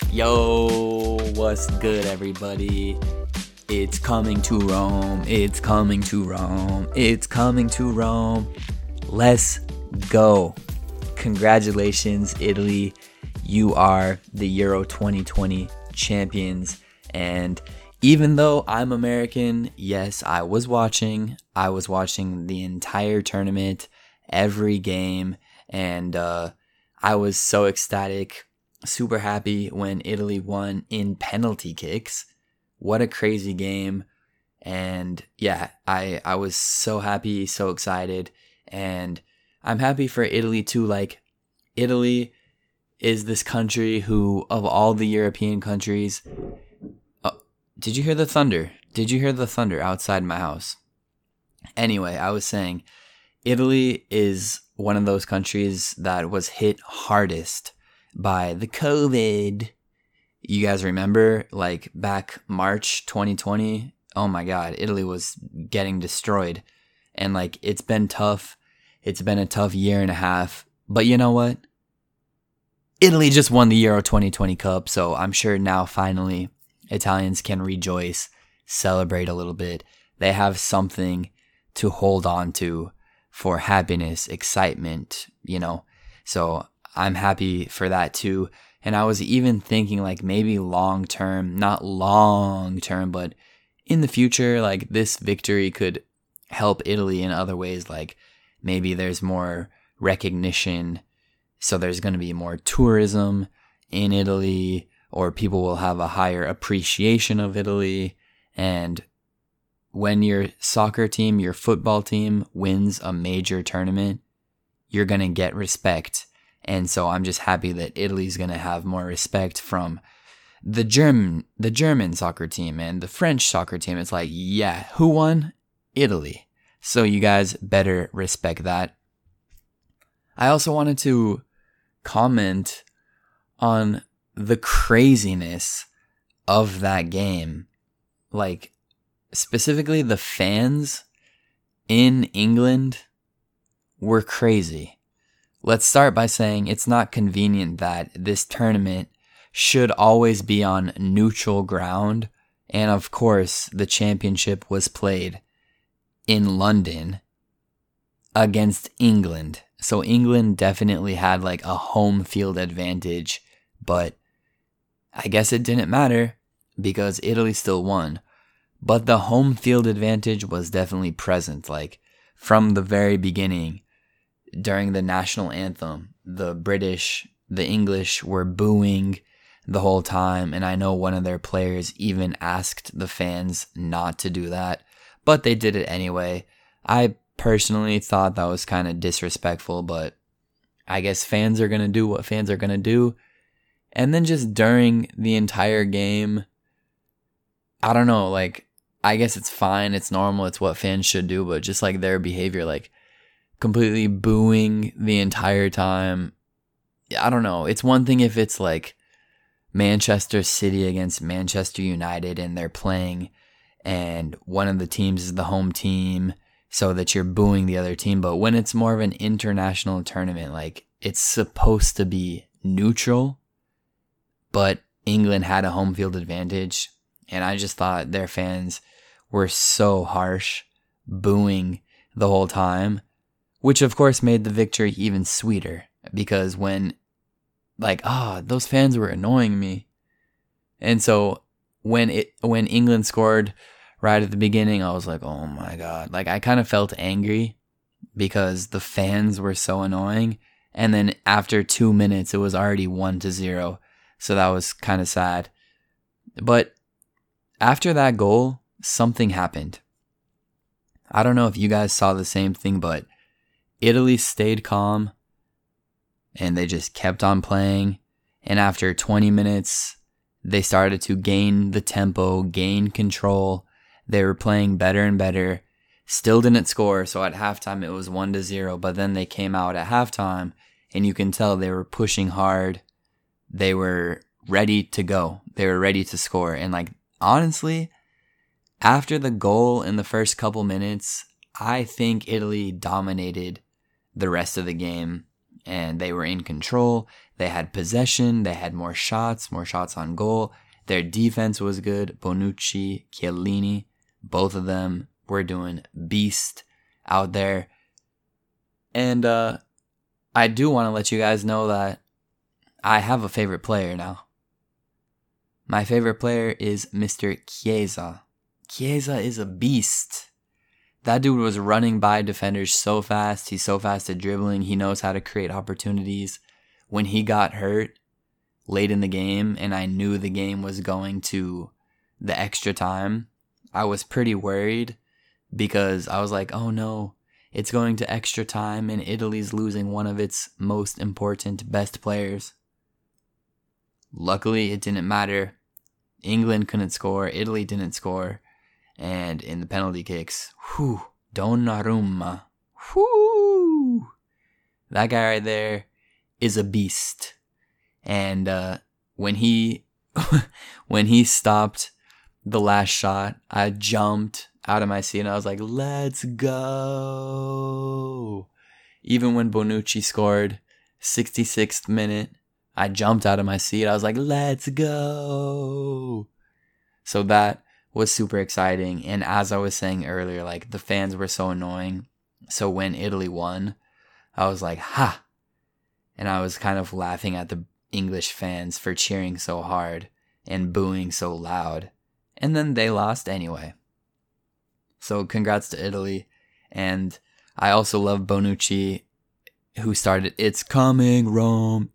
Yo, what's good, everybody? It's coming to Rome. It's coming to Rome. It's coming to Rome. Let's go. Congratulations, Italy. You are the Euro 2020 champions. And even though I'm American, yes, I was watching the entire tournament, every game, and I was so ecstatic. Super happy when Italy won in penalty kicks. What a crazy game. And yeah, I was so happy, so excited. And I'm happy for Italy too. Like, Italy is this country who, of all the European countries... did you hear the thunder? Did you hear the thunder outside my house? Anyway, I was saying, Italy is one of those countries that was hit hardest by the COVID. You guys remember, like, back March 2020? Oh my God, Italy was getting destroyed. And, like, it's been tough. It's been a tough year and a half. But you know what? Italy just won the Euro 2020 Cup, so I'm sure now finally Italians can rejoice, celebrate a little bit. They have something to hold on to for happiness, excitement, you know? So I'm happy for that too. And I was even thinking, like, maybe long term, not long term, but in the future, like, this victory could help Italy in other ways. Like, maybe there's more recognition, so there's going to be more tourism in Italy, or people will have a higher appreciation of Italy. And when your soccer team, your football team wins a major tournament, you're going to get respect. And so I'm just happy that Italy's going to have more respect from the German soccer team and the French soccer team. It's like, yeah, who won? Italy. So you guys better respect that. I also wanted to comment on the craziness of that game. Like, specifically the fans in England were crazy. Let's start by saying it's not convenient that this tournament should always be on neutral ground. And of course, the championship was played in London against England. So England definitely had like a home field advantage, but I guess it didn't matter because Italy still won. But the home field advantage was definitely present. Like, from the very beginning, during the national anthem, the English were booing the whole time. And I know one of their players even asked the fans not to do that, but they did it anyway. I personally thought that was kind of disrespectful, but I guess fans are going to do what fans are going to do. And then just during the entire game, I don't know, like, I guess it's fine, it's normal, it's what fans should do, but just like their behavior, like completely booing the entire time. I don't know. It's one thing if it's like Manchester City against Manchester United and they're playing and one of the teams is the home team, so that you're booing the other team. But when it's more of an international tournament, like, it's supposed to be neutral, but England had a home field advantage. And I just thought their fans were so harsh, booing the whole time, which of course made the victory even sweeter. Because when, like, those fans were annoying me. And so when England scored right at the beginning, I was like, oh my God. Like, I kind of felt angry because the fans were so annoying. And then after 2 minutes, it was already 1-0. So that was kind of sad. But after that goal, something happened. I don't know if you guys saw the same thing, but Italy stayed calm and they just kept on playing. And after 20 minutes, they started to gain the tempo, gain control. They were playing better and better. Still didn't score, so at halftime it was 1-0. But then they came out at halftime, and you can tell they were pushing hard. They were ready to go. They were ready to score. And, like, honestly, after the goal in the first couple minutes, I think Italy dominated the rest of the game. and they were in control. They had possession. They had more shots on goal. Their defense was good. Bonucci, Chiellini, both of them were doing beast out there. And I do want to let you guys know that I have a favorite player now. My favorite player is Mr. Chiesa. Chiesa is a beast. That dude was running by defenders so fast. He's so fast at dribbling. He knows how to create opportunities. When he got hurt late in the game and I knew the game was going to the extra time, I was pretty worried because I was like, oh no, it's going to extra time and Italy's losing one of its most important, best players. Luckily, it didn't matter. England couldn't score. Italy didn't score. And in the penalty kicks, Donnarumma. That guy right there is a beast. And when he stopped the last shot, I jumped out of my seat and I was like, let's go. Even when Bonucci scored 66th minute, I jumped out of my seat. I was like, let's go. So that was super exciting. And as I was saying earlier, like the fans were so annoying. So when Italy won, I was like, ha. And I was kind of laughing at the English fans for cheering so hard and booing so loud. And then they lost anyway. So congrats to Italy. And I also love Bonucci, who started, it's coming Rome,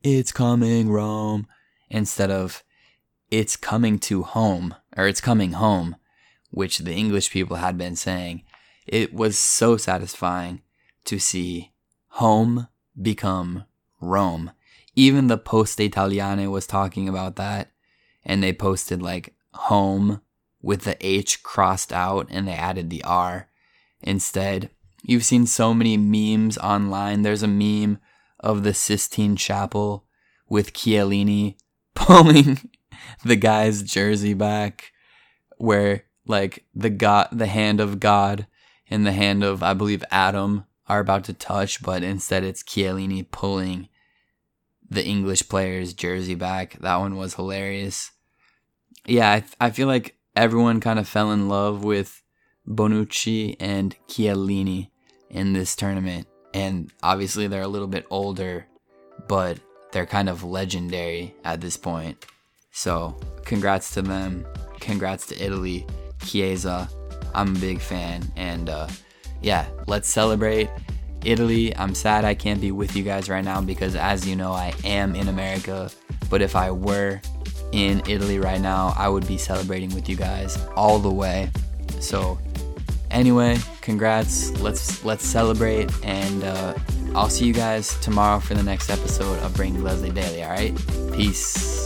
instead of it's coming to home, or it's coming home, which the English people had been saying. It was so satisfying to see home become Rome. Even the Poste Italiane was talking about that, and they posted like home with the H crossed out, and they added the R instead. You've seen so many memes online. There's a meme of the Sistine Chapel with Chiellini pulling the guy's jersey back, where like the hand of God and the hand of, I believe, Adam are about to touch, but instead it's Chiellini pulling the English player's jersey back. That one was hilarious. Yeah, I feel like everyone kind of fell in love with Bonucci and Chiellini in this tournament. And obviously they're a little bit older, but they're kind of legendary at this point. So congrats to them. Congrats to Italy. Chiesa, I'm a big fan. And yeah, let's celebrate. Italy, I'm sad I can't be with you guys right now because, as you know, I am in America. But if I were in Italy right now, I would be celebrating with you guys all the way. So anyway, congrats. Let's celebrate, and I'll see you guys tomorrow for the next episode of Bring Leslie Daily. All right, peace.